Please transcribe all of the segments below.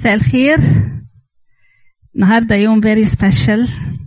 مساء الخير. النهارده يوم very special.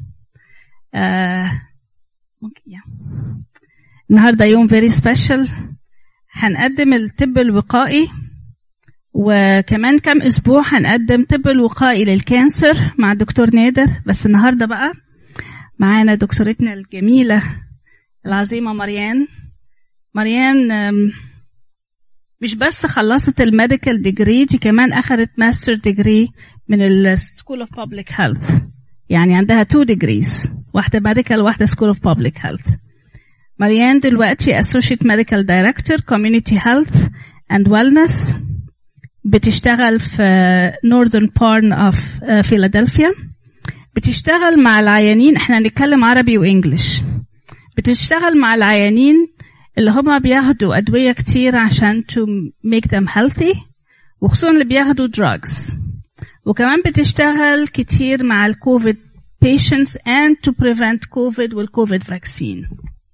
النهارده يوم very special. هنقدم الطب الوقائي، وكمان كام اسبوع هنقدم طب الوقائي للكانسر مع الدكتور نادر. بس النهارده بقى معانا دكتورتنا الجميله العظيمه مريان مش بس خلصت الميديكال ديجري، دي كمان اخذت ماستر ديجري من السكول اوف بابليك هيلث. يعني عندها 2 degrees، واحده ميديكال واحده سكول اوف بابليك هيلث. مريان دلوقتي اسوشيت ميديكال دايركتور كوميونيتي هيلث اند ويلنس، بتشتغل في نورثرن بارن اوف فيلادلفيا. بتشتغل مع العيانين، احنا هنتكلم عربي وانجليش. بتشتغل مع العيانين اللي هم بياخدوا أدوية كتير عشان to make them healthy، وخصوصا اللي بياخدوا drugs. وكمان بتشتغل كتير مع الكوفيد patients and to prevent COVID والكوفيد vaccine.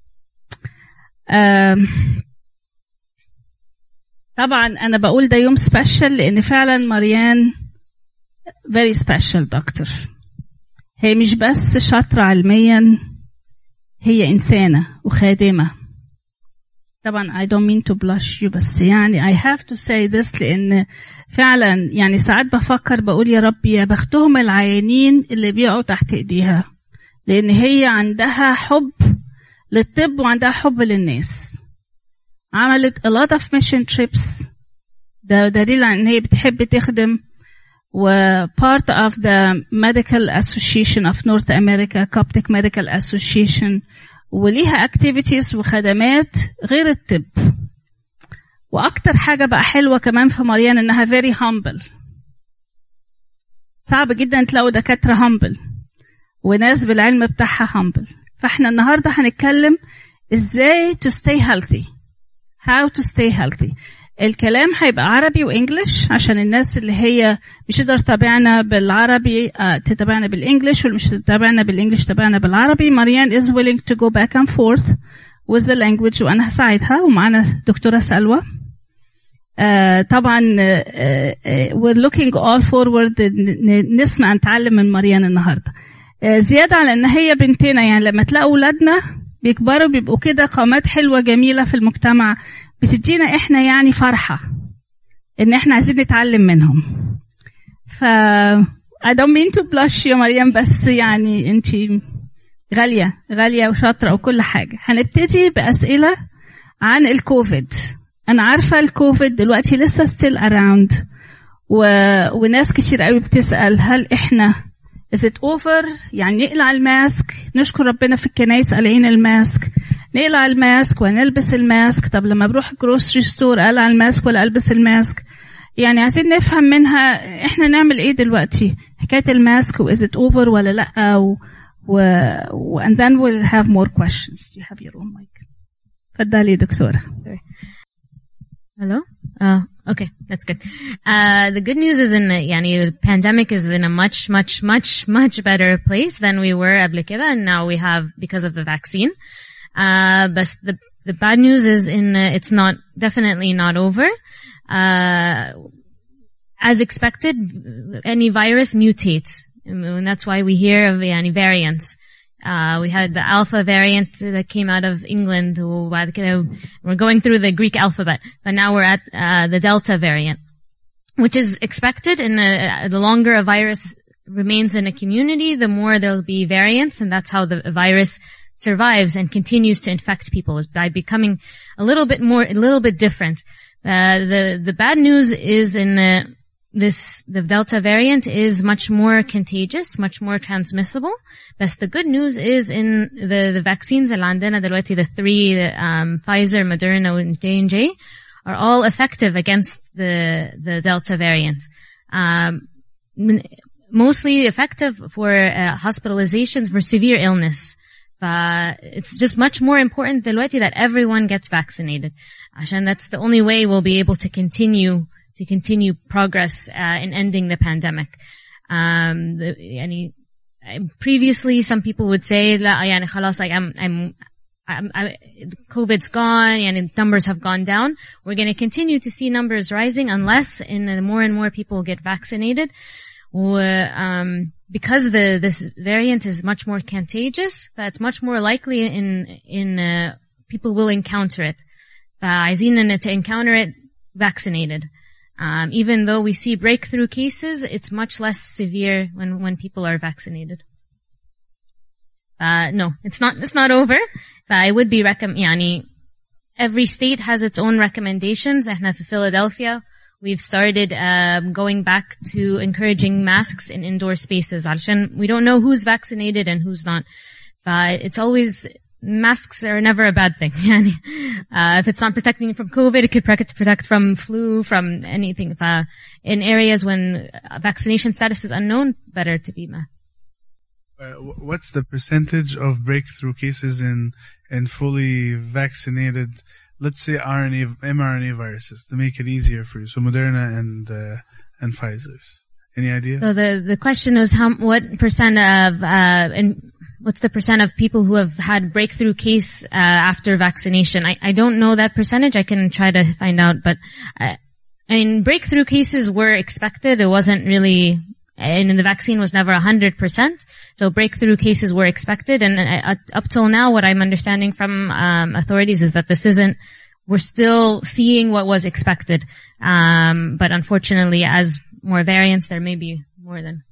طبعا أنا بقول ده يوم special لأن فعلا مريان very special دكتور. هي مش بس شاطرة علميا، هي إنسانة وخادمة. طبعا I don't mean to blush you، بس يعني I have to say this لأن فعلا يعني ساعات بفكر بقول يا رب يا بختهم العيانين اللي بيقعوا تحت إيديها، لأن هي عندها حب للطب وعندها حب للناس. عملت a lot of mission trips، ده دليل عن إن هي بتحب تخدم، و part of the Medical Association of North America Coptic Medical Association، وليها activities وخدمات غير الطب. واكتر حاجة بقى حلوة كمان في مريان انها very humble. صعب جدا تلاقوا دكاترة humble وناس بالعلم بتاعها humble. فاحنا النهاردة هنتكلم ازاي to stay healthy، how to stay healthy. الكلام هيبقى عربي وانجليش عشان الناس اللي هي مش تقدر تتابعنا بالعربي تتابعنا بالانجليش، واللي مش تتابعنا بالانجليش تتابعنا بالعربي. مريان is willing to go back and forth with the language، وانا هساعدها. ومعانا دكتورة سلوى. طبعا we're looking all forward نسمع نتعلم من مريان النهارده. زيادة على ان هي بنتنا، يعني لما تلاقوا اولادنا بيكبروا بيبقوا كده قامات حلوة جميلة في المجتمع، بتدينا احنا يعني فرحة ان احنا عايزين نتعلم منهم. I don't mean to blush يا مريم، بس يعني انتي غالية وشاطرة وكل حاجة. هنبتدي بأسئلة عن الكوفيد. انا عارفة الكوفيد دلوقتي لسه still around، وناس كتير قوي بتسأل هل احنا is it over؟ يعني نقلع الماسك. نشكر ربنا في الكنايس قلعين الماسك، نقلع الماسك ونلبس الماسك. طب لما بروح جروسري ستور أقلع الماسك ولا ألبس الماسك؟ يعني عايزين نفهم منها احنا نعمل ايه دلوقتي حكاية الماسك، و is it over ولا لأ، and then we'll have more questions. You have your own mic. اتفضلي دكتورة. Hello? Okay, that's good. The good news is the pandemic is in a much better place than we were قبل كده, and now we have because of the vaccine. But the bad news is it's definitely not over. As expected, any virus mutates, and that's why we hear of variants. We had the Alpha variant that came out of England. We're going through the Greek alphabet, but now we're at the Delta variant, which is expected. And the longer a virus remains in a community, the more there'll be variants, and that's how the virus survives and continues to infect people, is by becoming a little bit different. The bad news is the Delta variant is much more contagious, much more transmissible. But the good news is in the vaccines اللي عندنا دلوقتي, the 3, Pfizer, Moderna, and J&J, are all effective against the Delta variant. Mostly effective for hospitalizations for severe illness. It's just much more important دلوقتي that everyone gets vaccinated. عشان that's the only way we'll be able to continue progress in ending the pandemic. Previously some people would say لا خلاص, like COVID's gone and numbers have gone down. We're going to continue to see numbers rising unless more and more people get vaccinated. Because this variant is much more contagious, it's much more likely in people will encounter it. عايزين to encounter it vaccinated. Even though we see breakthrough cases, it's much less severe when people are vaccinated. No, it's not over. I would be every state has its own recommendations. احنا في Philadelphia, we've started going back to encouraging masks in indoor spaces. علشان we don't know who's vaccinated and who's not. It's always, masks are never a bad thing. If it's not protecting you from COVID, it could protect from flu, from anything. In areas when vaccination status is unknown, better to be masked. What's the percentage of breakthrough cases in fully vaccinated, let's say mRNA viruses, to make it easier for you? So Moderna and Pfizer's. Any idea? So the question was what percent of what's the percent of people who have had breakthrough case after vaccination? I don't know that percentage. I can try to find out, but breakthrough cases were expected. It wasn't really, and the vaccine was never 100%. So breakthrough cases were expected, and up till now, what I'm understanding from authorities is that we're still seeing what was expected. But unfortunately, as more variants, there may be more than.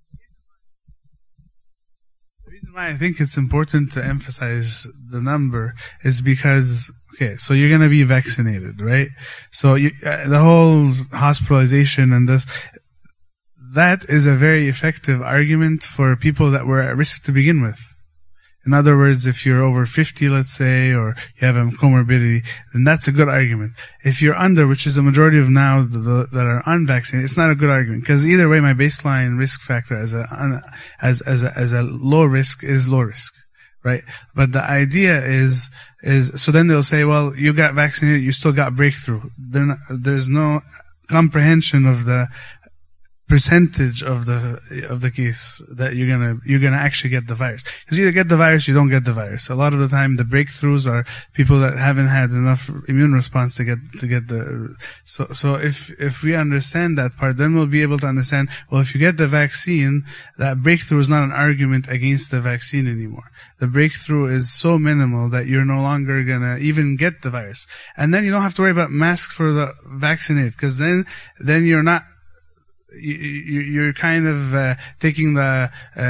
The reason why I think it's important to emphasize the number is because, okay, so you're going to be vaccinated, right? So the whole hospitalization and this, that is a very effective argument for people that were at risk to begin with. In other words, if you're over 50, let's say, or you have a comorbidity, then that's a good argument. If you're under, which is the majority of now that are unvaccinated, it's not a good argument, because either way, my baseline risk factor as a low risk is low risk, right? But the idea is so then they'll say, well, you got vaccinated, you still got breakthrough. There's no comprehension of the percentage of the case that you're gonna actually get the virus. Because you either get the virus, you don't get the virus. A lot of the time, the breakthroughs are people that haven't had enough immune response to get the. So if we understand that part, then we'll be able to understand. Well, if you get the vaccine, that breakthrough is not an argument against the vaccine anymore. The breakthrough is so minimal that you're no longer gonna even get the virus, and then you don't have to worry about masks for the vaccinated, because then you're not. You're kind of taking the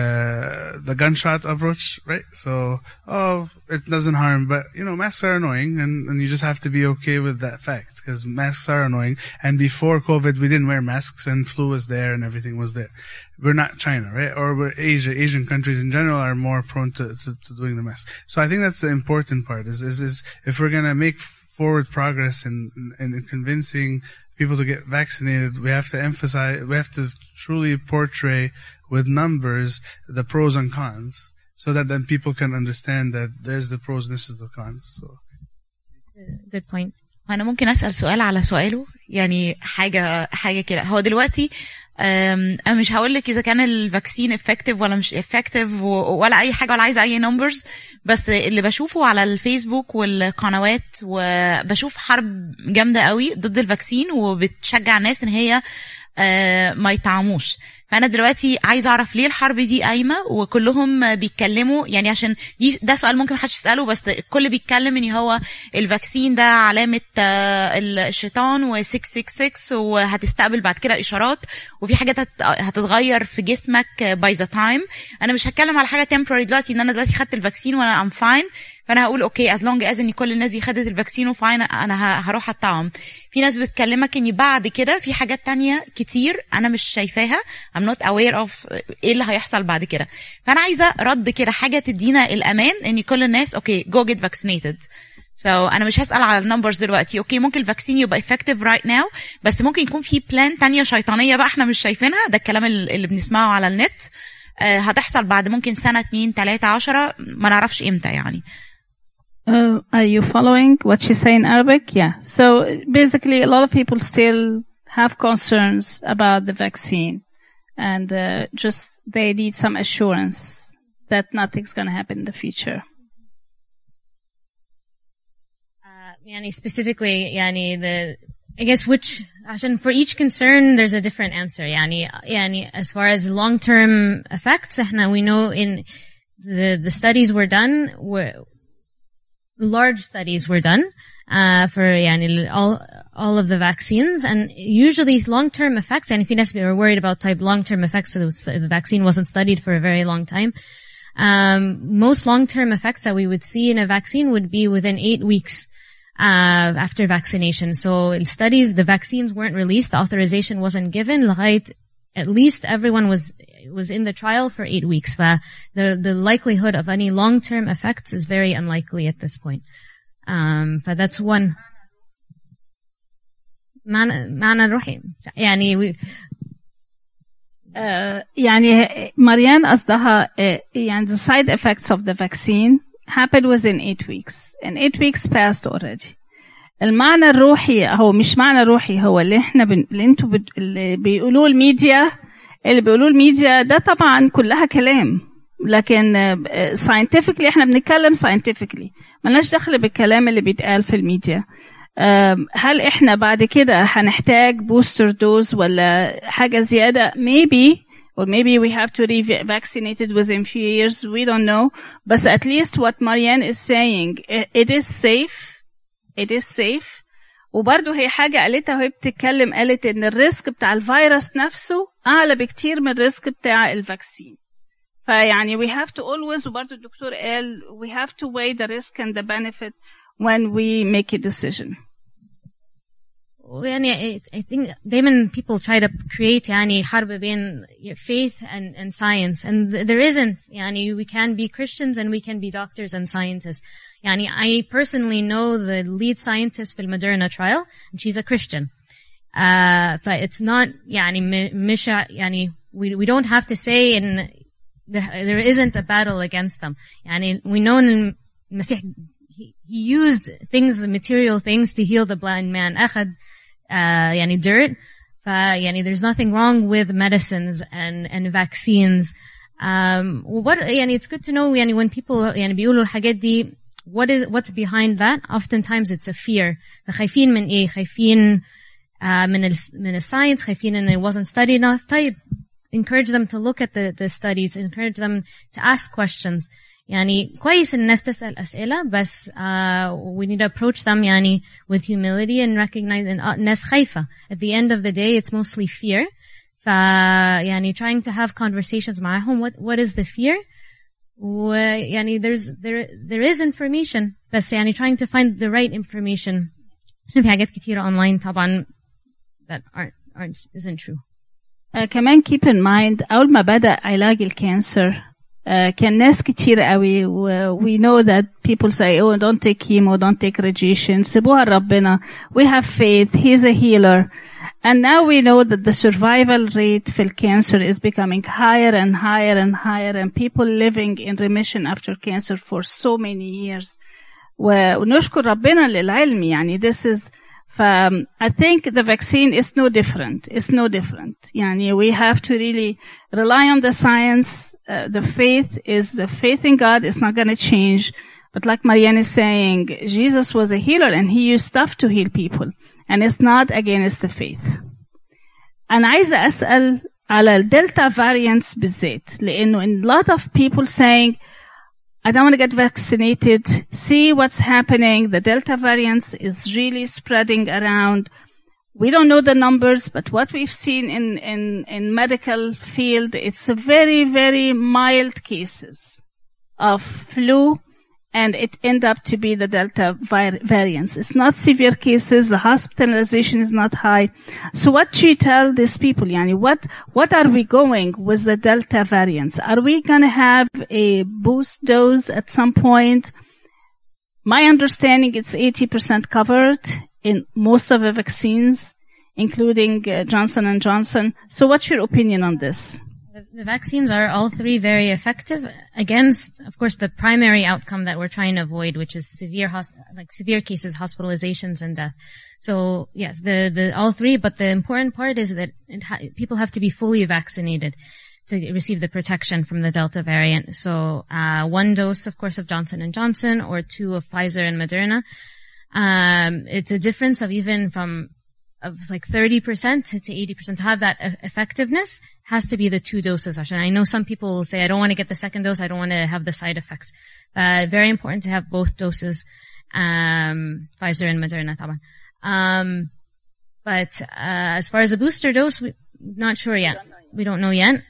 gunshot approach, right? So, it doesn't harm, but masks are annoying, and you just have to be okay with that fact, because masks are annoying. And before COVID, we didn't wear masks, and flu was there, and everything was there. We're not China, right? Or we're Asia. Asian countries in general are more prone to doing the mask. So I think that's the important part. Is if we're gonna make forward progress in convincing people to get vaccinated, we have to truly portray with numbers the pros and cons, so that then people can understand that there's the pros and this is the cons. So. Good point. أنا ممكن أسأل سؤال على سؤاله، يعني حاجة كده. هو دلوقتي أنا مش هقولك إذا كان الفاكسين effective ولا مش effective ولا أي حاجة، ولا عايزة أي numbers، بس اللي بشوفه على الفيسبوك والقنوات، وبشوف حرب جامدة قوي ضد الفاكسين، وبتشجع الناس إن هي ما يطعموش. فأنا دلوقتي عايزة أعرف ليه الحرب دي قايمة وكلهم بيتكلموا، يعني عشان ده سؤال ممكن محدش يسأله، بس الكل بيتكلم إن هو الفاكسين ده علامة الشيطان و666 وهتستقبل بعد كده إشارات، وفي حاجات هتتغير في جسمك by the time. أنا مش هتكلم على حاجة temporary دلوقتي، إن أنا دلوقتي خدت الفاكسين وأنا I'm fine، فأنا هقول أوكي as long as إن كل الناس دي خدت الفاكسين وفاين، أنا هروح أطعم. في ناس بتكلمك إن بعد كده في حاجات تانية كتير أنا مش شايفاها، I'm not aware of إيه اللي هيحصل بعد كده. فأنا عايزة رد كده، حاجة تدينا الأمان إن كل الناس أوكي go get vaccinated. So أنا مش هسأل على النمبرز دلوقتي. أوكي ممكن الفاكسين يبقى effective right now، بس ممكن يكون في بلان تانية شيطانية بقى إحنا مش شايفينها. ده الكلام اللي بنسمعه على النت، هتحصل بعد ممكن سنة 2 3 10 ما نعرفش إمتى يعني. Are you following what she say in Arabic? Yeah. So basically, a lot of people still have concerns about the vaccine, and just they need some assurance that nothing's going to happen in the future. specifically I guess for each concern there's a different answer. As far as long-term effects, we know in the studies were done, large studies were done for all of the vaccines, and usually long-term effects, and if you were worried about long-term effects, so the vaccine wasn't studied for a very long time. Most long-term effects that we would see in a vaccine would be within 8 weeks after vaccination. So studies, the vaccines weren't released, the authorization wasn't given. At least everyone was in the trial for 8 weeks. The likelihood of any long-term effects is very unlikely at this point. But that's one. معنى الروحي مريان قصدها the side effects of the vaccine happened within 8 weeks, and 8 weeks passed already. المعنى الروحي هو مش معنى روحي، هو اللي احنا اللي انتوا اللي بيقولوه الميديا ده طبعا كلها كلام، لكن scientifically احنا بنتكلم scientifically، ملناش دخل بالكلام اللي بيتقال في الميديا. هل احنا بعد كده هنحتاج بوستر دوز ولا حاجة زيادة؟ maybe we have to re-vaccinate it within few years, we don't know. But at least what Marianne is saying, it is safe. وبرضه هي حاجة قالتها وهي بتتكلم، قالت ان الريسك بتاع الفيروس نفسه اعلى بكتير من الريسك بتاع الفاكسين. we have to always، وبرضه الدكتور قال we have to weigh the risk and the benefit when we make a decision. I think دايما people try to create حرب بين faith and science, and there isn't. We can be Christians and we can be doctors and scientists. I personally know the lead scientist في Moderna trial, and she's a Christian. But it's not we don't have to say there isn't a battle against them. We know in Masih he used material things to heal the blind man. أخذ dirt. There's nothing wrong with medicines and vaccines. It's good to know when people بيقولوا الحاجات دي, what's behind that? Oftentimes it's a fear. خايفين من ايه؟ خايفين من الساينس، خايفين ان it wasn't studied enough. طيب, encourage them to look at the studies, encourage them to ask questions. كويس الناس تسأل أسئلة، بس we need to approach them with humility and recognize الناس خايفة. At the end of the day, it's mostly fear. trying to have conversations معهم. What is the fear? there is information، بس trying to find the right information. عشان في حاجات كتيرة online طبعا that isn't true. كمان keep in mind أول ما بدأ علاج الكانسر كان ناس كتير قوي we know that people say don't take chemo, don't take radiation، سيبوها لربنا، we have faith, he's a healer. And now we know that the survival rate for cancer is becoming higher and higher and higher, and people living in remission after cancer for so many years. ونشكر ربنا للعلم. This is I think the vaccine is no different. It's no different. We have to really rely on the science. The faith in God is not going to change. But like Marianne is saying, Jesus was a healer and he used stuff to heal people. And it's not against the faith. أنا عايزة أسأل على الدلتا variants بالذات، لأنه a lot of people saying, I don't want to get vaccinated. See what's happening. The Delta variants is really spreading around. We don't know the numbers, but what we've seen in medical field, it's a very, very mild cases of flu, and it end up to be the Delta variants. It's not severe cases. The hospitalization is not high. So what do you tell these people? What are we going with the Delta variants? Are we going to have a boost dose at some point? My understanding, it's 80% covered in most of the vaccines, including Johnson & Johnson. So what's your opinion on this? The vaccines are all three very effective against, of course, the primary outcome that we're trying to avoid, which is severe cases, hospitalizations, and death. So yes, the all three. But the important part is that people have to be fully vaccinated to receive the protection from the Delta variant. So 1 dose, of course, of Johnson & Johnson, or 2 of Pfizer and Moderna. It's a difference of even of like 30% to 80%. To have that effectiveness has to be the 2 doses. And I know some people will say, I don't want to get the second dose. I don't want to have the side effects. Very important to have both doses, Pfizer and Moderna, طبعا. But as far as a booster dose, we're not sure yet. We don't know yet.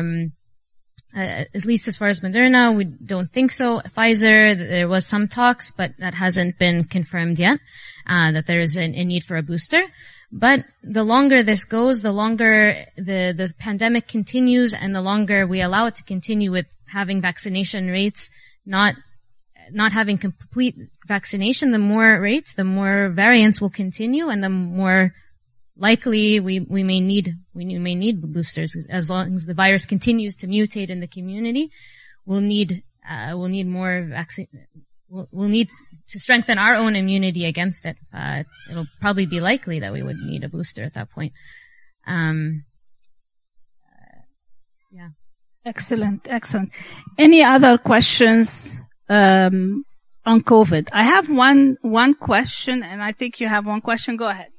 At least as far as Moderna, we don't think so. Pfizer, there was some talks, but that hasn't been confirmed yet, that there is a need for a booster. But the longer this goes, the longer the pandemic continues, and the longer we allow it to continue with having vaccination rates not having complete vaccination, the more variants will continue, and the more likely we may need boosters. As long as the virus continues to mutate in the community, we'll need more vaccine. We'll need to strengthen our own immunity against it. It'll probably be likely that we would need a booster at that point. Yeah. Excellent. Any other questions on COVID? I have one question, and I think you have one question. Go ahead.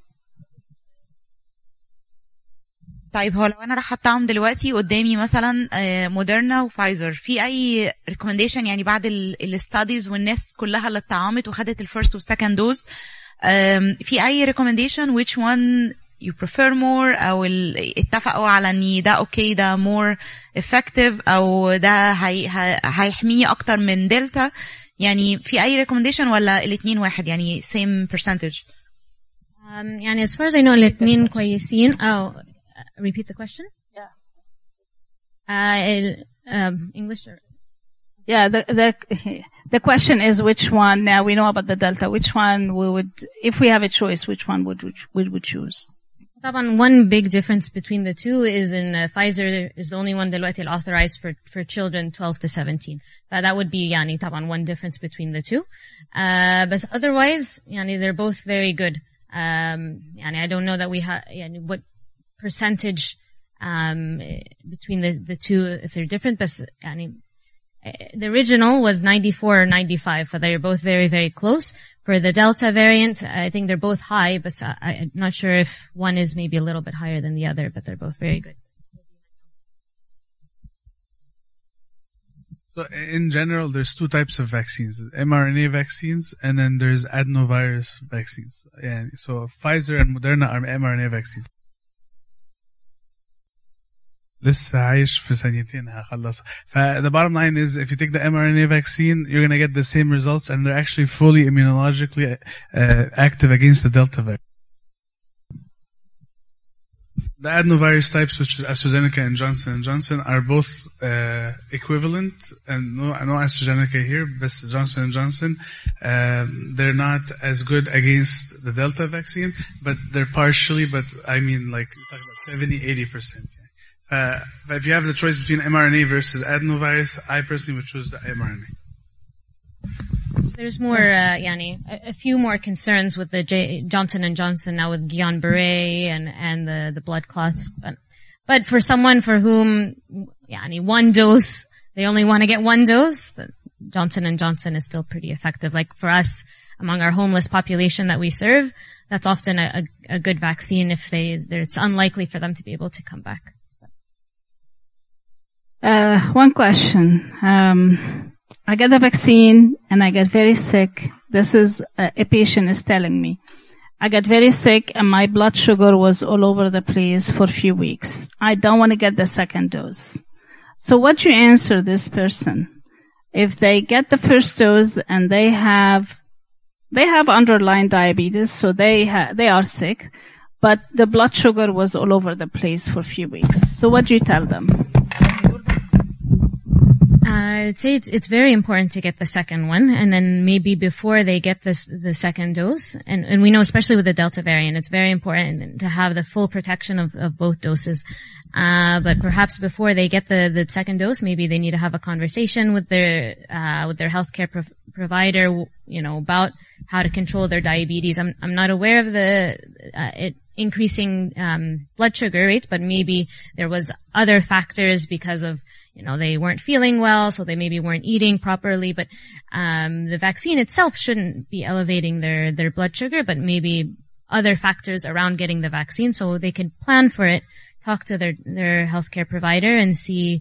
طيب هو لو انا راح احطهم دلوقتي قدامي مثلا موديرنا وفايزر في اي recommendation يعني بعد الستاديز والناس كلها اللي اتطعمت وخدت الفيرست والسكند دوز في اي recommendation which one you prefer more او اتفقوا على ان ده اوكي ده more effective او ده هيحميني اكتر من دلتا يعني في اي recommendation ولا الاثنين واحد يعني same percentage يعني as far as I know الاثنين كويسين أو repeat the question? Yeah. English or? Yeah, the question is which one, now we know about the Delta, which one we would, if we have a choice, which one would we choose? One big difference between the two is in Pfizer is the only one دلوقتي authorized for children 12 to 17. That would be يعني طبعا one difference between the two. But otherwise يعني they're both very good. يعني I don't know that we have يعني what percentage between the two if they're different, but يعني the original was 94 or 95, so they're both very, very close. For the Delta variant, I think they're both high, but I'm not sure if one is maybe a little bit higher than the other, but they're both very good. So in general, there's two types of vaccines, mRNA vaccines, and then there's adenovirus vaccines. Yeah, so Pfizer and Moderna are mRNA vaccines. لسه عايش في ثانيتين هخلص. The bottom line is, if you take the mRNA vaccine, you're going to get the same results, and they're actually fully immunologically active against the Delta variant. The adenovirus types, which is AstraZeneca and Johnson & Johnson, are both equivalent, and no AstraZeneca here, but Johnson & Johnson. They're not as good against the Delta vaccine, but they're partially, but I mean like you're talking about 70-80%. But if you have the choice between mRNA versus adenovirus, I personally would choose the mRNA. There's more, a few more concerns with the Johnson & Johnson now with Guillain-Barré and the blood clots. But for someone for whom, one dose, they only want to get one dose, the Johnson & Johnson is still pretty effective. Like for us, among our homeless population that we serve, that's often a good vaccine if it's unlikely for them to be able to come back. One question. I get the vaccine and I get very sick. This is a patient is telling me. I got very sick and my blood sugar was all over the place for a few weeks. I don't want to get the second dose. So what do you answer this person? If they get the first dose and they have underlying diabetes, so they are sick, but the blood sugar was all over the place for a few weeks. So what do you tell them? I'd say it's very important to get the second one, and then maybe before they get the second dose, and we know especially with the Delta variant, it's very important to have the full protection of both doses. But perhaps before they get the second dose, maybe they need to have a conversation with their healthcare provider, about how to control their diabetes. I'm not aware of it increasing blood sugar rates, but maybe there was other factors because of they weren't feeling well, so they maybe weren't eating properly, but the vaccine itself shouldn't be elevating their blood sugar, but maybe other factors around getting the vaccine, so they can plan for it, talk to their healthcare provider and see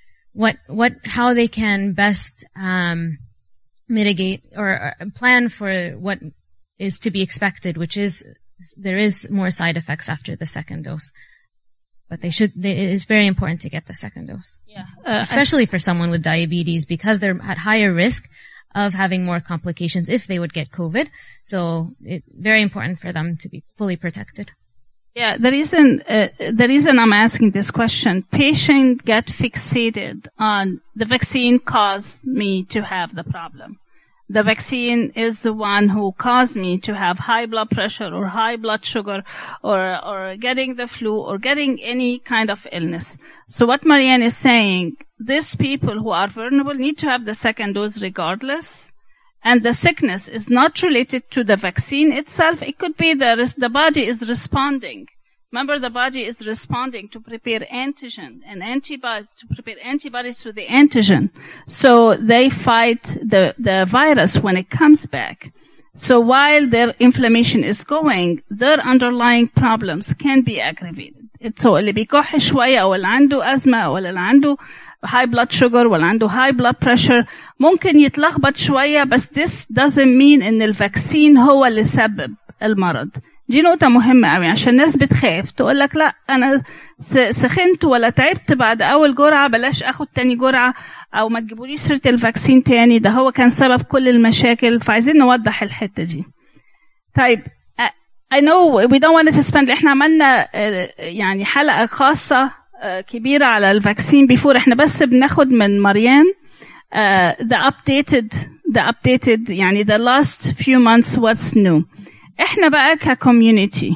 how they can best mitigate or plan for what is to be expected, which is there is more side effects after the second dose. But it's very important to get the second dose. Yeah. Especially for someone with diabetes, because they're at higher risk of having more complications if they would get COVID. So it's very important for them to be fully protected. Yeah, the reason I'm asking this question, patients get fixated on the vaccine caused me to have the problem. The vaccine is the one who caused me to have high blood pressure or high blood sugar or getting the flu or getting any kind of illness. So what Marianne is saying, these people who are vulnerable need to have the second dose regardless. And the sickness is not related to the vaccine itself. It could be the body is responding. Remember, the body is responding to prepare antigen and to prepare antibodies to the antigen. So they fight the virus when it comes back. So while their inflammation is going, their underlying problems can be aggravated. So اللي بيكح شوية أو اللي عنده أزمة أو اللي عنده high blood sugar ولا عنده high blood pressure ممكن يتلخبط شوية, بس this doesn't mean إن الفاكسين هو اللي سبب المرض. دي نقطة مهمة قوي عشان الناس بتخاف تقول لك لا أنا سخنت ولا تعبت بعد أول جرعة بلاش أخد تاني جرعة أو ما تجيبوليش سيرة الفاكسين تاني ده هو كان سبب كل المشاكل. فعايزين نوضح الحتة دي. طيب I know we don't want to spend احنا عملنا يعني حلقة خاصة كبيرة على الفاكسين before. احنا بس بناخد من مريان the updated يعني the last few months what's new. احنا بقى كcommunity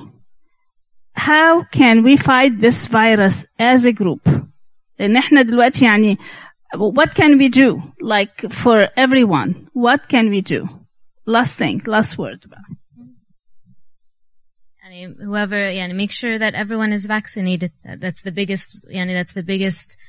how can we fight this virus as a group؟ لان احنا دلوقتي يعني what can we do like for everyone? What can we do? Last word. Whoever, make sure that everyone is vaccinated. That's the biggest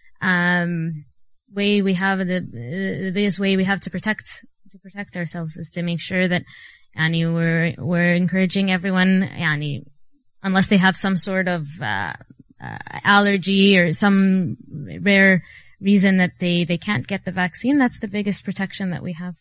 way we have the biggest way we have to protect ourselves is to make sure that we're encouraging everyone, unless they have some sort of allergy or some rare reason that they can't get the vaccine. That's the biggest protection that we have.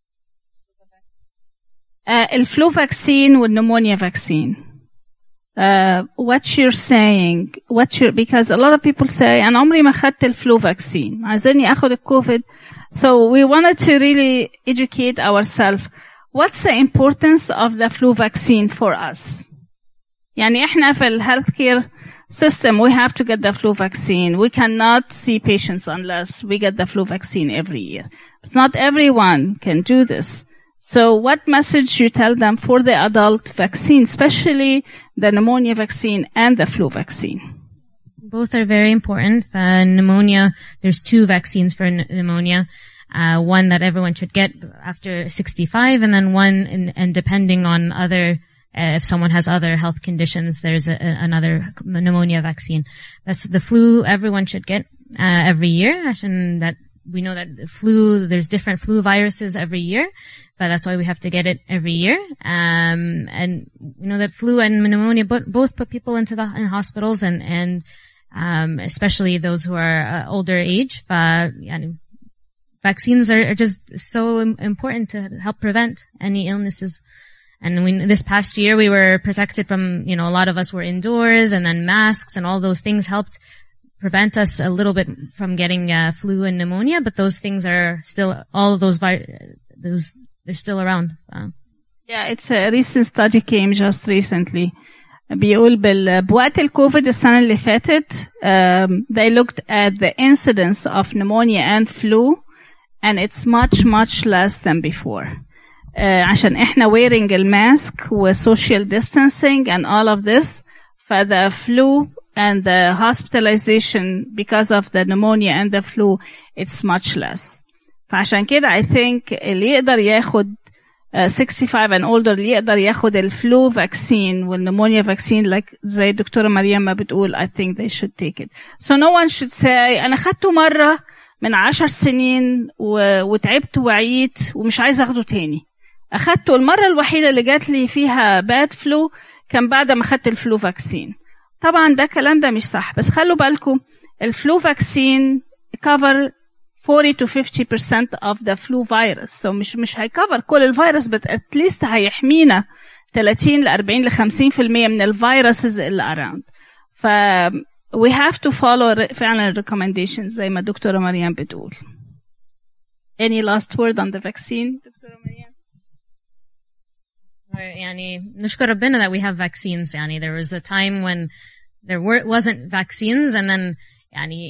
الفلو vaccine والpneumonia vaccine. What you're saying, because a lot of people say أنا عمري ما خدت الفلو vaccine عايزيني أخد الكوفيد. So we wanted to really educate ourselves. What's the importance of the flu vaccine for us? يعني احنا في healthcare system we have to get the flu vaccine. We cannot see patients unless we get the flu vaccine every year. But not everyone can do this. So what message you tell them for the adult vaccine, especially the pneumonia vaccine and the flu vaccine? Both are very important. Pneumonia, there's 2 vaccines for pneumonia. One that everyone should get after 65, and then one, and depending on other, if someone has other health conditions, there's another pneumonia vaccine. That's the flu everyone should get, every year. And that we know that the flu, there's different flu viruses every year, but that's why we have to get it every year. And we know that flu and pneumonia both put people in hospitals and especially those who are older age. Vaccines are just so important to help prevent any illnesses. And this past year we were protected from, a lot of us were indoors, and then masks and all those things helped prevent us a little bit from getting flu and pneumonia, but those things are still, all of those they're still around. Yeah, it's a recent study came just recently. بيقول بوقت الكوفيد السنة اللي فاتت they looked at the incidence of pneumonia and flu, and it's much less than before. عشان احنا wearing الماسك و social distancing and all of this, for the flu and the hospitalization because of the pneumonia and the flu, it's much less. فعشان كده I think اللي يقدر ياخد 65 and older اللي يقدر ياخد الفلو vaccine والنمونيا vaccine like زي الدكتورة مريم ما بتقول I think they should take it. So no one should say أنا خدته مرة من 10 سنين وتعبت وعيت ومش عايز أخده تاني. أخدته المرة الوحيدة اللي جات لي فيها bad flu كان بعد ما خدت الفلو vaccine. طبعا ده كلام ده مش صح بس خلوا بالكم الفلو vaccine cover 40 to 50% of the flu virus. So مش هيكفر كل الفيروس but at least هيحمينا 30 ل 40 ل 50% من الفيروسز اللي around. ف we have to follow فعلا recommendations زي ما الدكتورة مريم بتقول. Any last word on the vaccine دكتورة مريم؟ يعني نشكر ربنا that we have vaccines. يعني there was a time when there wasn't vaccines and then يعني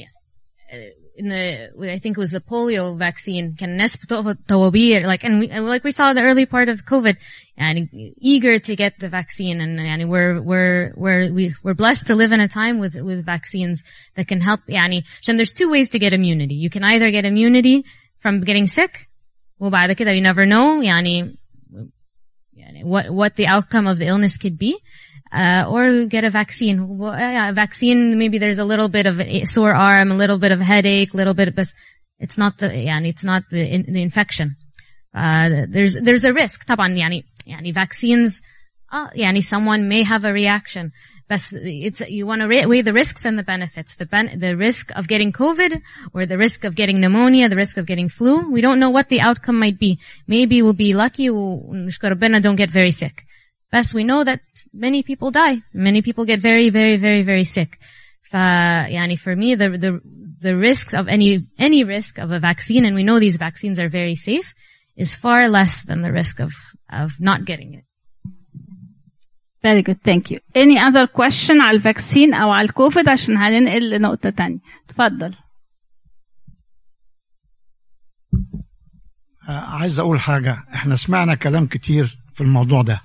I think it was the polio vaccine كان الناس بتقف طوابير like and we saw the early part of COVID يعني eager to get the vaccine and يعني we're blessed to live in a time with vaccines that can help يعني عشان there's two ways to get immunity. You can either get immunity from getting sick وبعد كده you never know يعني what the outcome of the illness could be. Or get a vaccine. Well, yeah, a vaccine, maybe there's a little bit of a sore arm, a little bit of headache, little bit, but it's not the infection. There's a risk. طبعا يعني vaccines, يعني someone may have a reaction. But you want to weigh the risks and the benefits. The risk of getting COVID or the risk of getting pneumonia, the risk of getting flu. We don't know what the outcome might be. Maybe we'll be lucky ونشكر ربنا don't get very sick. But we know that many people die. Many people get very, very, very, very sick. يعني for me, the risks of any risk of a vaccine, and we know these vaccines are very safe, is far less than the risk of not getting it. Very good, thank you. Any other question على الفاكسين أو على الكوفيد عشان هننقل لنقطة تانية. تفضل. عايز أقول حاجة. احنا سمعنا كلام كتير في الموضوع ده.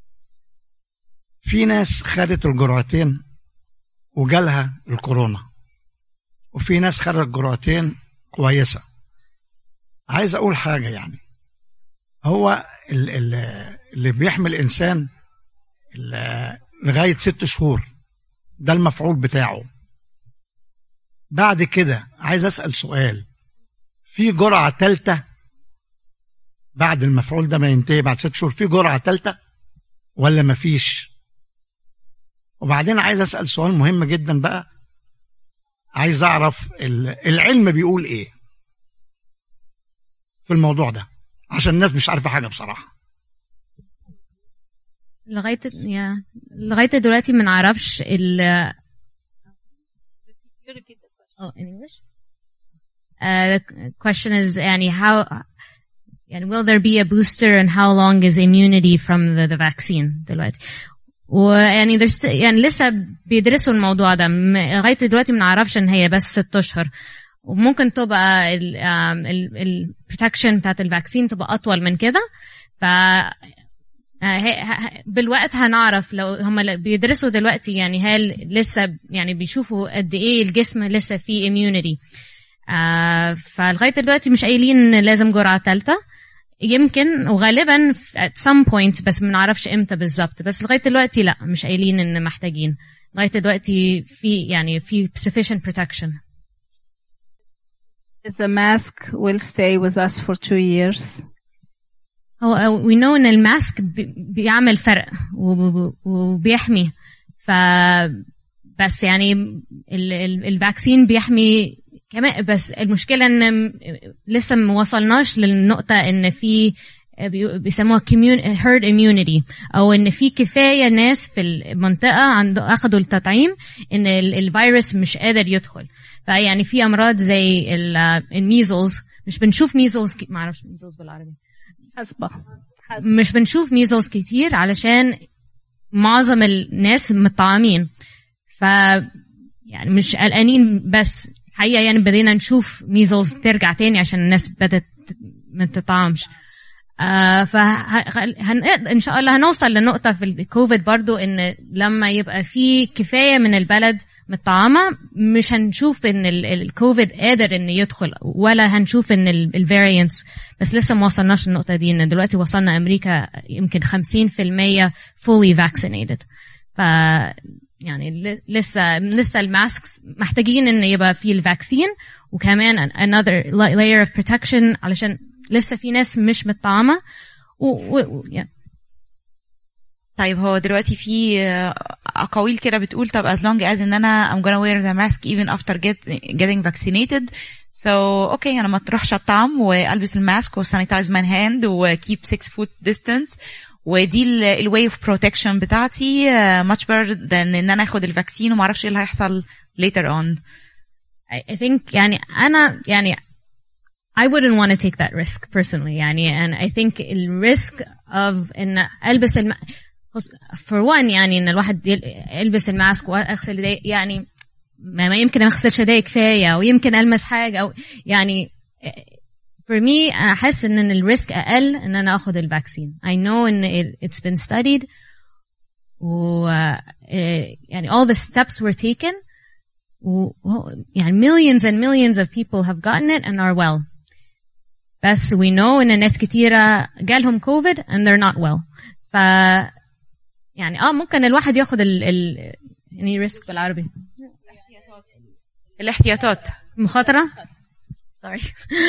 في ناس خدت الجرعتين وجالها الكورونا وفي ناس خدت الجرعتين كويسة. عايز أقول حاجة يعني هو اللي بيحمل إنسان لغاية 6 شهور ده المفعول بتاعه. بعد كده عايز أسأل سؤال. في جرعة تالتة بعد المفعول ده ما ينتهي بعد 6 شهور في جرعة تالتة ولا مفيش؟ وبعدين عايز أسأل سؤال مهم جدا بقى. عايز أعرف العلم بيقول إيه في الموضوع ده عشان الناس مش عارفة حاجة بصراحة. لغاية دلوقتي ما نعرفش the question is يعني how يعني will there be a booster and how long is immunity from the vaccine دلوقتي. ويعني يعني لسه بيدرسوا الموضوع ده. لغاية دلوقتي ما نعرفش ان هي بس 6 أشهر وممكن تبقى ال protection بتاعت الفاكسين تبقى أطول من كده. ف بالوقت هنعرف لو هم بيدرسوا دلوقتي يعني هل لسه يعني بيشوفوا قد ايه الجسم لسه فيه immunity. فلغاية دلوقتي مش قايلين لازم جرعة ثالثة. يمكن وغالبا at some point بس ما نعرفش امتى بالظبط. بس لغاية دلوقتي لا مش قايلين ان محتاجين. لغاية دلوقتي في sufficient protection. The mask will stay with us for 2 years. we know ان الماسك بيعمل فرق وبيحمي. بس يعني الفاكسين بيحمي كمان. بس المشكلة ان لسه ما وصلناش للنقطة ان في بيسموها herd immunity او ان في كفاية ناس في المنطقة اخذوا التطعيم ان الفيروس مش قادر يدخل. فيعني في امراض زي الميزلز مش بنشوف ميزلز ما اعرفش ميزلز بالعربي مش بنشوف ميزلز كتير علشان معظم الناس متطعمين. يعني مش قلقانين بس حقيقة يعني بدينا نشوف ميزلز ترجع تاني عشان الناس بدأت ما تتطعمش. إن شاء الله هنوصل لنقطة في الكوفيد برضو إن لما يبقى في كفاية من البلد متطعمة مش هنشوف ان الكوفيد قادر ان يدخل، ولا هنشوف ان الفاريانتس، بس لسه ما وصلناش النقطة دي. ان دلوقتي وصلنا امريكا يمكن 50% fully vaccinated. ف يعني لسه الماسكس محتاجين ان يبقى فيه الفاكسين، وكمان another layer of protection علشان لسه في ناس مش متطعمة. طيب هو دلوقتي في أقاويل كده بتقول طب as long as ان انا I'm gonna wear the mask even after getting vaccinated, so okay انا ما تروحش الطعم والبس الماسك وsanitize my hand و keep 6 foot distance، ودي ال way of protection بتاعتي much better than ان انا اخد الفاكسين وما اعرفش ايه اللي هيحصل later on. I think يعني أنا يعني I wouldn't want to take that risk personally يعني. and I think the risk of إن ألبس for one يعني إن الواحد يلبس الماسك وأغسل يدي، يعني ما يمكن أغسلش يدي كفاية، ويمكن ألمس حاجة أو يعني for me أنا أحس إن الريسك أقل إن أنا أخذ الفاكسين. I know إن it's been studied و يعني all the steps were taken يعني millions and millions of people have gotten it and are well. بس we know إن ناس كتيرة جالهم COVID and they're not well. ف يعني ممكن الواحد ياخد يعني ريسك بالعربي الاحتياطات مخاطرة sorry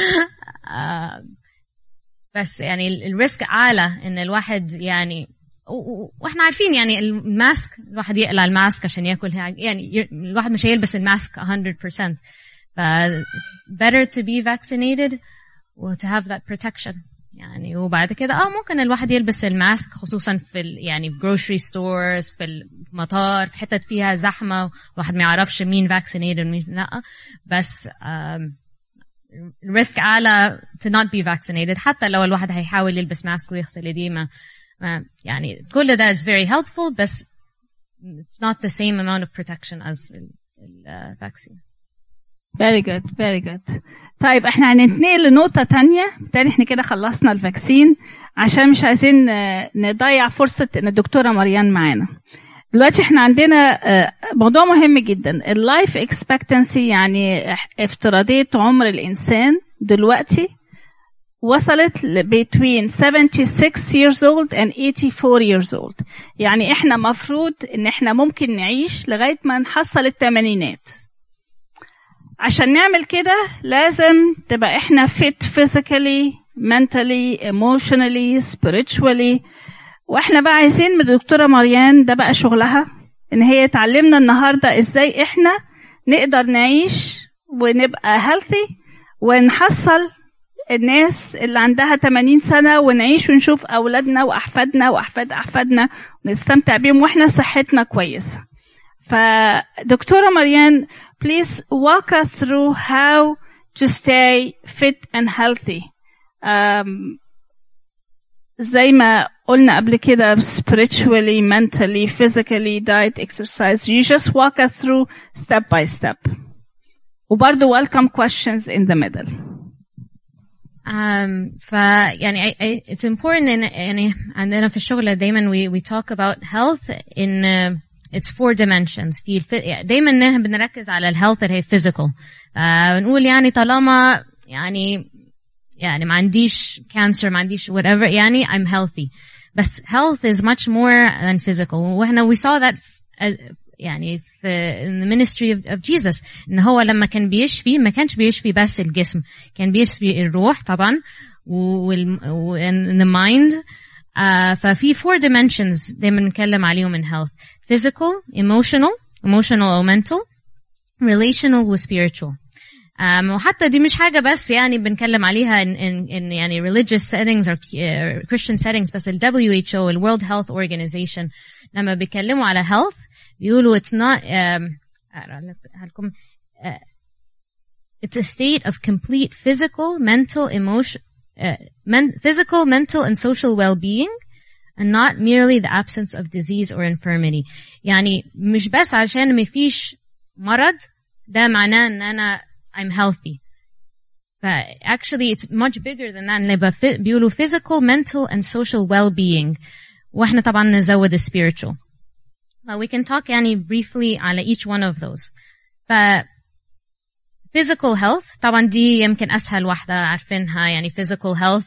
بس يعني الريسك أعلى إن الواحد يعني واحنا عارفين يعني الماسك الواحد يقلع الماسك عشان ياكل يعني الواحد مش هيلبس الماسك 100%. ف better to be vaccinated و to have that protection يعني. وبعد كده ممكن الواحد يلبس الماسك خصوصا في يعني grocery stores، في المطار، في حتت فيها زحمة واحد ما يعرفش مين vaccinated ومين لا، بس الريسك أعلى to not be vaccinated. حتى لو الواحد هيحاول يلبس ماسك ويغسل يديه يعني كل ده is very helpful، بس it's not the same amount of protection as the vaccine. Very good, very good. طيب احنا هننتقل لنقطة تانية. بالتالي احنا كده خلصنا الفاكسين عشان مش عايزين نضيع فرصة ان الدكتورة مريان معانا. دلوقتي احنا عندنا موضوع مهم جدا، اللايف اكسبكتنسي، يعني افتراضية عمر الانسان دلوقتي وصلت between 76 years old and 84 years old. يعني احنا مفروض ان احنا ممكن نعيش لغاية ما نحصل الثمانينات. عشان نعمل كده لازم تبقى احنا fit physically, mentally, emotionally, spiritually. واحنا بقى عايزين من الدكتورة مريان ده بقى شغلها ان هي تعلمنا النهاردة ازاي احنا نقدر نعيش ونبقى healthy ونحصل الناس اللي عندها 80 سنة ونعيش ونشوف أولادنا وأحفادنا وأحفاد أحفادنا ونستمتع بيهم وإحنا صحتنا كويسة. فدكتورة مريان, please walk us through how to stay fit and healthy. زي ما قلنا قبل كده, spiritually, mentally, physically, diet, exercise. You just walk us through step by step. وبرضو welcome questions in the middle. يعني it's important يعني عندنا في الشغل دايما we talk about health in it's 4 dimensions. في دايما نحن بنركز على الهيلث اللي هي physical. بنقول يعني طالما يعني ما عنديش cancer, ما عنديش whatever, يعني I'm healthy. بس health is much more than physical. وإحنا we saw that يعني في in the ministry of Jesus, إن هو لما كان بيشفي ما كانش بيشفي بس الجسم, كان بيشفي الروح طبعا and the mind. ففي 4 dimensions دايما نتكلم عليهم in health: physical, emotional or mental, relational و spiritual. وحتى دي مش حاجة بس يعني بنتكلم عليها in يعني religious settings or Christian settings, بس ال WHO, ال World Health Organization, لما بيتكلموا على health بيقولوا it's not it's a state of complete physical, mental, physical, mental and social well-being, and not merely the absence of disease or infirmity. يعني مش بس عشان ما فيش مرض ده معناه ان انا I'm healthy. Actually it's much bigger than that. بيقولوا physical, mental and social well-being, واحنا طبعا نزود spiritual. We can talk يعني briefly على each one of those. physical health طبعا دي يمكن أسهل واحدة عارفينها يعني physical health.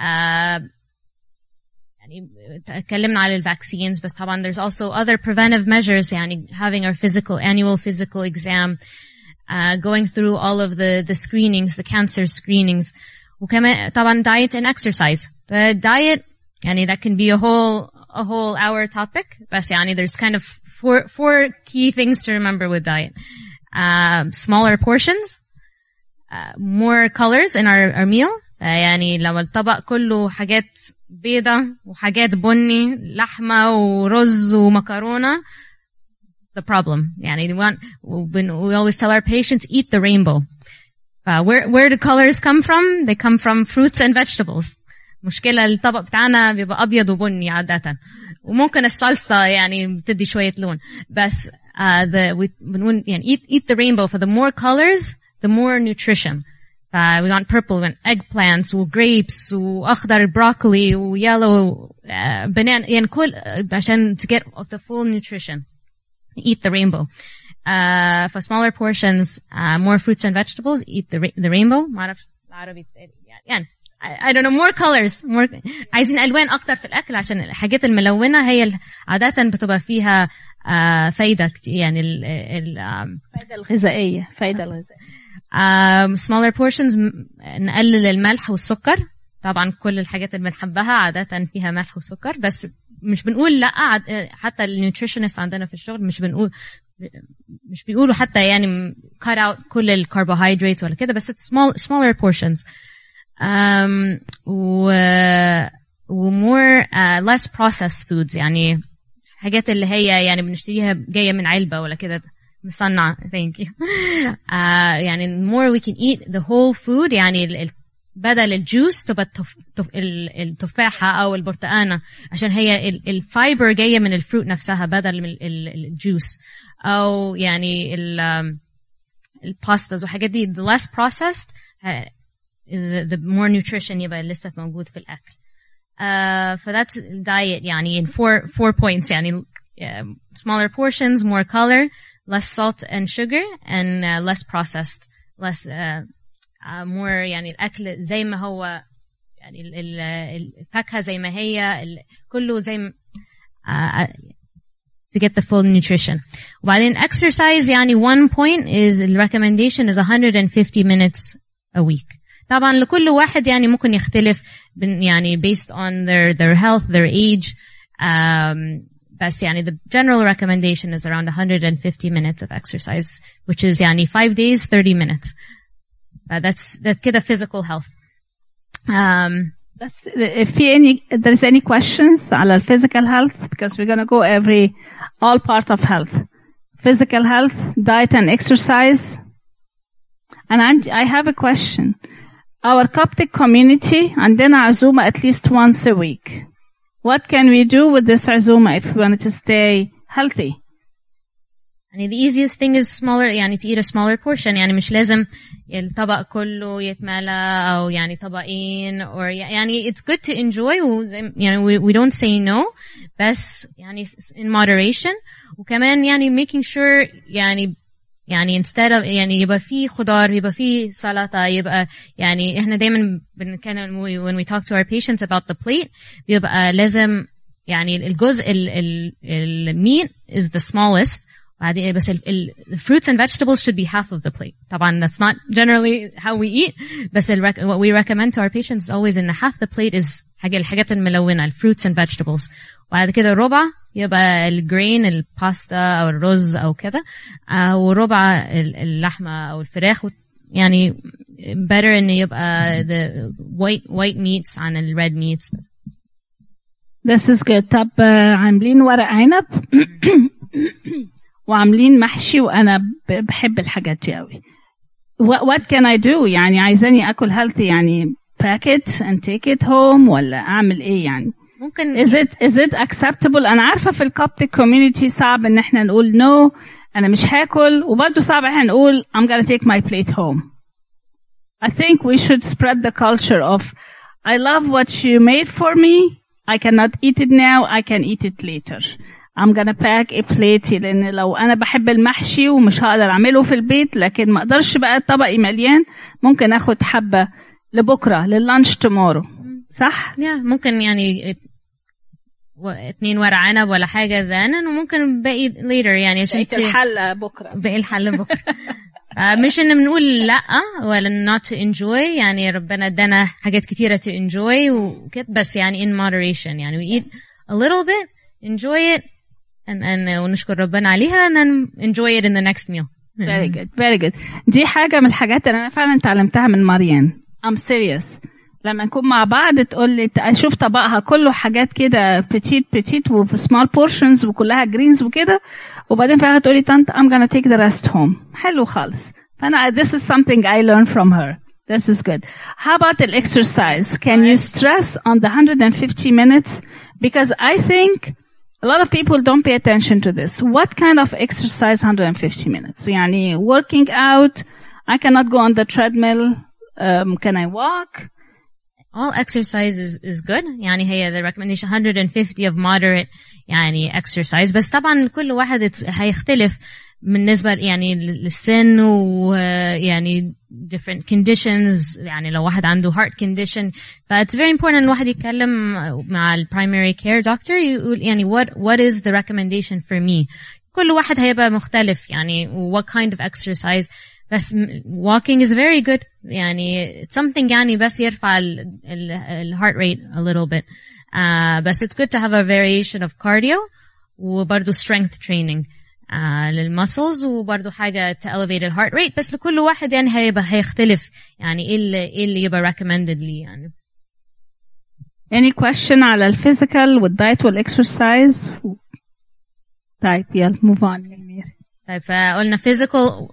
يعني اتكلمنا على vaccines بس طبعا there's also other preventive measures يعني having our annual physical exam, going through all of the screenings, the cancer screenings. وكمان طبعا diet and exercise. The diet يعني that can be a whole hour topic بس يعني there's kind of four key things to remember with diet. Smaller portions, more colors in our meal. يعني لو الطبق كله حاجات بيضة وحاجات بني لحمة ورز ومكرونة, it's a problem. يعني we always tell our patients eat the rainbow. Where do colors come from? They come from fruits and vegetables. مشكلة الطبق بتاعنا بيبقى أبيض وبني عادة, وممكن الصلصة يعني بتدي شوية لون, بس بنقول يعني eat the rainbow. For the more colors, the more nutrition. We want purple and eggplants grapes وأخضر broccoli yellow banana يعني كل عشان to get of the full nutrition. Eat the rainbow. For smaller portions, more fruits and vegetables. Eat the rainbow. ما أعرف العربي يعني I don't know, more colors, more. عايزين ألوان أكتر في الأكل عشان الحاجات الملونة هي عادة بتبقى فيها فايدة كتير يعني فايدة الغذائية. smaller portions نقلل الملح والسكر. طبعا كل الحاجات اللي بنحبها عادة فيها ملح وسكر, بس مش بنقول لا. حتى النيوتريشنست عندنا في الشغل مش بيقولوا حتى يعني cut out كل الكربوهيدرات ولا كده, بس it's smaller portions. more less processed foods يعني حاجات اللي هي يعني بنشتريها جاية من علبة ولا كده مصنع. thank you. يعني more we can eat the whole food يعني بدل الجوس تبقى التفاحة أو البرتقانة عشان هي الفايبر جاية من الفروت نفسها بدل من الجوس, أو يعني الباستاز وحاجات دي the less processed the more nutrition يبقى لسه موجود في الأكل. فthat's diet يعني in four points يعني smaller portions, more color, less salt and sugar, and less processed, less more يعني الأكل زي ما هو يعني الفاكهة زي ما هي كله زي to get the full nutrition. وبعدين exercise يعني one point is the recommendation is 150 minutes a week. طبعا لكل واحد يعني ممكن يختلف يعني based on their health, their age. بس يعني the general recommendation is around 150 minutes of exercise, which is يعني 5 days, 30 minutes. That's كده physical health. If there's any questions على physical health, because we're going to go all part of health. Physical health, diet and exercise. And I have a question. Our Coptic community عندنا عزومة at least once a week. What can we do with this عزومة if we wanted to stay healthy? يعني the easiest thing is smaller يعني to eat a smaller portion. يعني مش لازم الطبق كله يتملى أو يعني طبقين, or يعني it's good to enjoy. يعني we don't say no, بس يعني in moderation. وكمان يعني making sure يعني instead of يعني يبقى فيه خضار, يبقى فيه سلطة, يبقى يعني احنا دايما بنتكلم when we talk to our patients about the plate بيبقى لازم يعني الجزء meat is the smallest, بس the fruits and vegetables should be half of the plate. طبعا that's not generally how we eat, بس what we recommend to our patients is always in half the plate is الحاجات الملونة, fruits and vegetables. وبعد كده ربع يبقى الجرين, الباستا أو الرز أو كده, وربع اللحمة أو الفراخ. يعني better إنه يبقى the white meats عن ال red meats. This is good. طب عاملين ورق عنب وعاملين محشي, وأنا بحب الحاجات دي أوي. What can I do? يعني عايزاني أكل healthy يعني pack it and take it home ولا أعمل إيه يعني؟ ممكن is it acceptable? أنا عارفة في الكوبتيك community صعب إن إحنا نقول no أنا مش هاكل, وبرضه صعب إحنا نقول I'm gonna take my plate home. I think we should spread the culture of I love what you made for me. I cannot eat it now. I can eat it later. I'm gonna pack a plate. لأن لو أنا بحب المحشي ومش هقدر أعمله في البيت، لكن ما أقدرش بقى طبقي مليان، ممكن أخد حبة لبكرة لللانش tomorrow. صح؟ ممكن يعني 2 ورق عنب ولا حاجة then، وممكن باقي later يعني عشان الحلة بكرة. باقي الحلة بكرة. مش إن بنقول لأ ولا not to enjoy، يعني ربنا ادانا حاجات كتيرة to enjoy وكده، بس يعني in moderation، يعني we eat a little bit, enjoy it and ونشكر ربنا عليها and then enjoy it in the next meal. Very good, very good. دي حاجة من الحاجات اللي أنا فعلا تعلمتها من مريان. I'm serious. لما نكون مع بعض تقول لي أشوف طبقها كله حاجات كده petite وفي small portions وكلها greens وكده، وبعدين فيها تقول لي طنط I'm gonna take the rest home. حلو خالص. فأنا this is something I learned from her. This is good. How about the exercise? Can you stress on the 150 minutes? Because I think a lot of people don't pay attention to this. What kind of exercise 150 minutes? يعني working out, I cannot go on the treadmill. Can I walk? All exercise is good. يعني هي the recommendation 150 of moderate يعني exercise. بس طبعا كل واحد هيختلف بالنسبة يعني للسن ويعني different conditions. يعني لو واحد عنده heart condition، it's very important إن الواحد يتكلم مع ال primary care doctor يقول يعني what is the recommendation for me. كل واحد هيبقى مختلف يعني what kind of exercise. بس walking is very good. يعني it's something يعني بس يرفع ال heart rate a little bit. بس it's good to have a variation of cardio وبرضو strength training للmuscles وبرضو حاجة to elevate the heart rate. بس لكل واحد يعني هيختلف يعني ايه اللي يبقى recommended لي يعني. Any question على الفيزيكال والدايت والexercise؟ طيب يلا move on. طيب فقلنا physical.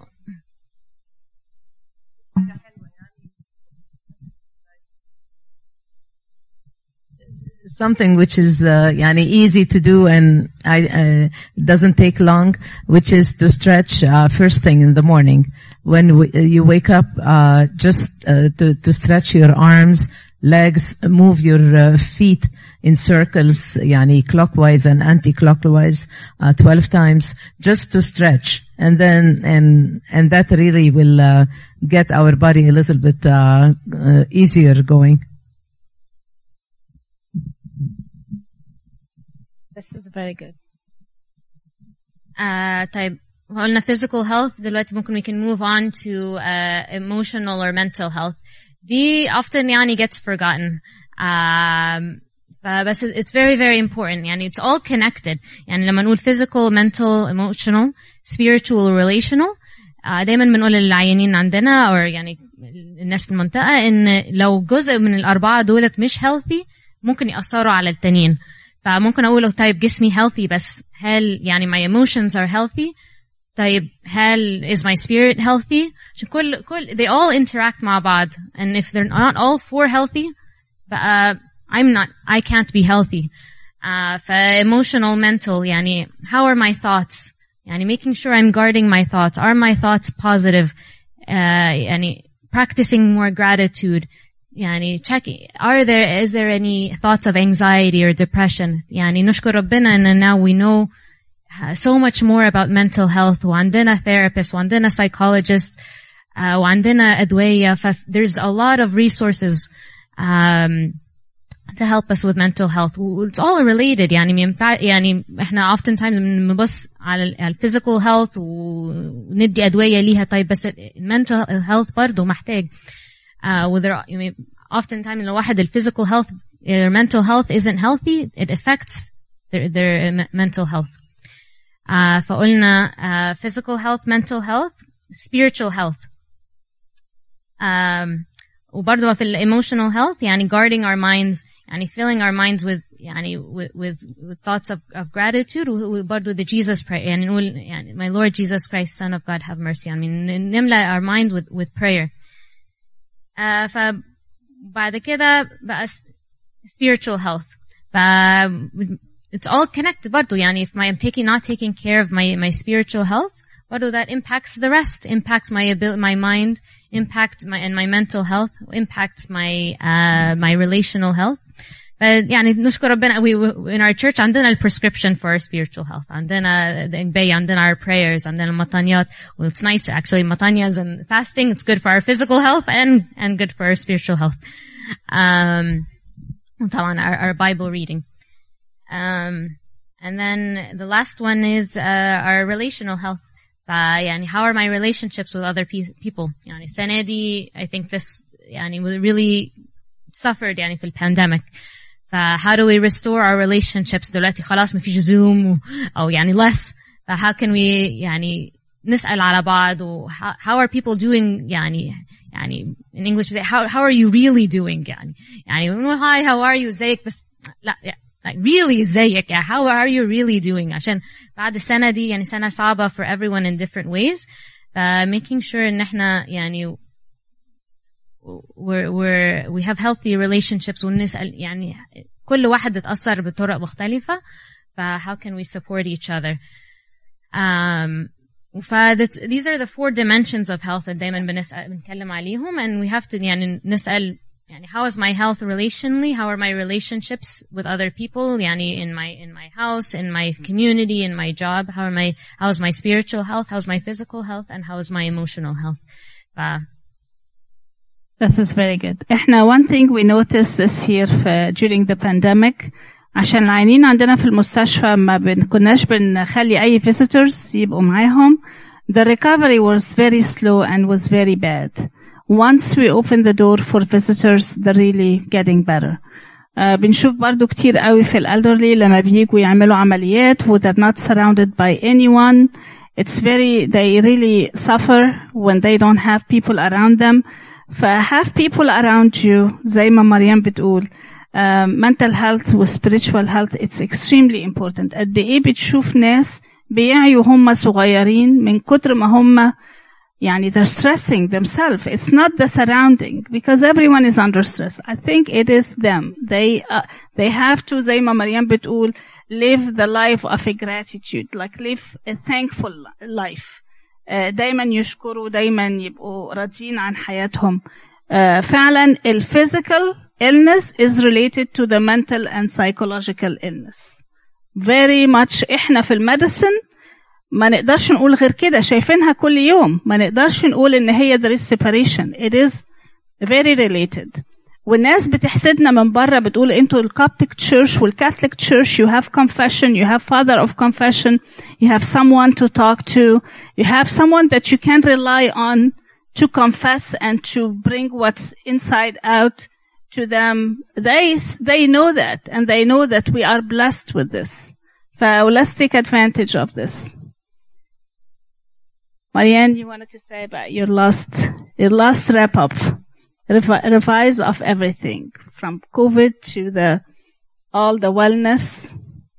Something which is yani easy to do and doesn't take long, which is to stretch first thing in the morning when you wake up, just to stretch your arms, legs, move your feet in circles, yani clockwise and anti-clockwise 12 times, just to stretch, and then and that really will get our body a little bit easier going. This is very good. طيب قلنا physical health. دلوقتي ممكن we can move on to emotional or mental health. دي often يعني gets forgotten. بس it's very very important. يعني it's all connected. يعني لما نقول physical, mental, emotional, spiritual, relational, دايما بنقول للعيانين عندنا أو يعني الناس في المنطقة إن لو جزء من الأربعة دولت مش healthy ممكن يأثروا على التانيين. فممكن أقوله طيب جسمي healthy بس هل يعني my emotions are healthy؟ طيب هل is my spirit healthy؟ عشان كل they all interact مع بعض. And if they're not all four healthy بقى I can't be healthy. emotional, mental يعني how are my thoughts؟ يعني making sure I'm guarding my thoughts. Are my thoughts positive؟ يعني practicing more gratitude. يعني is there any thoughts of anxiety or depression؟ يعني نشكر ربنا and now we know so much more about mental health وعندنا therapists وعندنا psychologists وعندنا أدوية. There's a lot of resources to help us with mental health. It's all related. يعني احنا oftentimes بنبص على physical health وندي أدوية ليها. طيب بس mental health برضو محتاج. Oftentimes لو واحد physical health or mental health isn't healthy, it affects their mental health. فقلنا physical health, mental health, spiritual health. وبرضو في emotional health يعني guarding our minds, يعني filling our minds with يعني with thoughts of gratitude وبرضو the Jesus prayer. يعني نقول يعني my Lord Jesus Christ, Son of God, have mercy on me. نملأ our mind with prayer. فبعد كده بقى spiritual health. It's all connected برضو. يعني if I'm not taking care of my spiritual health, برضو that impacts the rest, impacts my mind, impacts my mental health, impacts my relational health. يعني نشكر ربنا in our church عندنا prescription for our spiritual health. عندنا عندنا our prayers, عندنا المطانيات. Well, it's nice actually matanyas and fasting. It's good for our physical health and good for our spiritual health. طبعا our Bible reading. And then the last one is our relational health. يعني how are my relationships with other people? يعني السنة دي I think this يعني we really suffered يعني في pandemic. How do we restore our relationships? دلوقتي خلاص ما فيش زوم أو يعني less. How can we يعني نسأل على بعض و how are people doing يعني in English how are you really doing يعني hi how are you ازيك بس لا like really ازيك how are you really doing عشان بعد السنة دي يعني سنة صعبة for everyone in different ways. Making sure ان احنا يعني we have healthy relationships ونسأل يعني كل واحد اتأثر بطرق مختلفة. how can we support each other? These are the 4 dimensions of health that دايما بنتكلم عليهم, and we have to يعني نسأل يعني how is my health relationally? How are my relationships with other people? يعني in my house, in my community, in my job. How is my spiritual health? How is my physical health? And how is my emotional health? This is very good. احنا one thing we noticed this year during the pandemic, عشان العيانين عندنا في المستشفى ما كناش بنخلي أي visitors يبقوا معاهم. The recovery was very slow and was very bad. Once we open the door for visitors, they're really getting better. بنشوف برضو كتير قوي في elderly لما بييجوا يعملوا عمليات و they're not surrounded by anyone. They really suffer when they don't have people around them. have people around you زي ما مريم بتقول. Mental health و spiritual health, it's extremely important. قد ايه بتشوف ناس بيعيوا هم صغيرين من كتر ما هم يعني they're stressing themselves. It's not the surrounding because everyone is under stress. I think it is them. They have to زي ما مريم بتقول live the life of a gratitude, like live a thankful life. دايما يشكروا, دايما يبقوا راضيين عن حياتهم. فعلا physical illness is related to the mental and psychological illness. Very much احنا في الميديسن ما نقدرش نقول غير كده, شايفينها كل يوم, ما نقدرش نقول ان هي there is separation. It is very related. والناس بتحسدنا من بره, بتقول انتوا الكابتيك تشيرش والكاثوليك تشيرش, you have confession, you have father of confession, you have someone to talk to, you have someone that you can rely on to confess and to bring what's inside out to them. They know that, and they know that we are blessed with this. So let's take advantage of this. Marianne, you wanted to say about your last wrap up, revise of everything from COVID to all the wellness.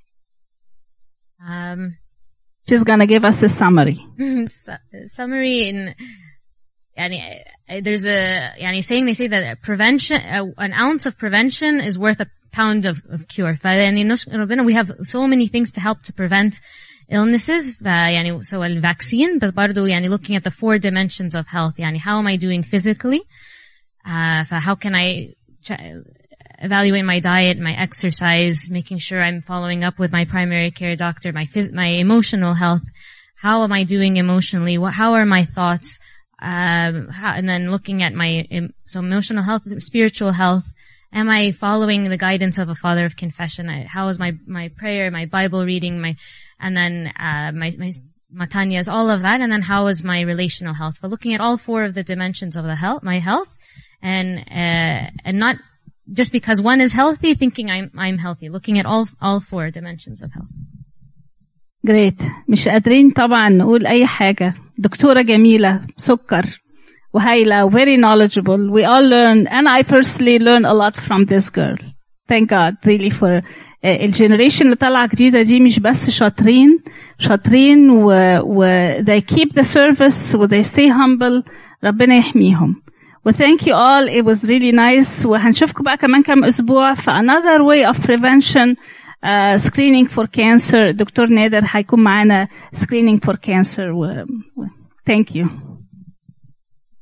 She's gonna give us a summary. Summary in. There's a saying, they say that prevention, an ounce of prevention is worth a pound of cure. We have so many things to help to prevent illnesses. So a vaccine, but برضو looking at the 4 dimensions of health. How am I doing physically? How can I evaluate my diet, my exercise, making sure I'm following up with my primary care doctor, my emotional health. How am I doing emotionally? How are my thoughts? And then looking at my emotional health, spiritual health. Am I following the guidance of a father of confession? How is my prayer, my Bible reading, and then my matanyas, all of that. And then how is my relational health? But looking at all 4 of the dimensions of my health, and not just because one is healthy, thinking I'm healthy. Looking at all 4 dimensions of health. Great. مش قادرين طبعا نقول أي حاجة. دكتورة جميلة, سكر وهايلة, very knowledgeable. We all learn, and I personally learn a lot from this girl. Thank God really for الجنريشن اللي طالعة جديدة دي, مش بس شاطرين they keep the service they stay humble. ربنا يحميهم. Thank you all. It was really nice. وهنشوفكم بقى كمان كام أسبوع في another way of prevention. Screening for cancer. دكتور نادر هيكون معانا screening for cancer. Thank you.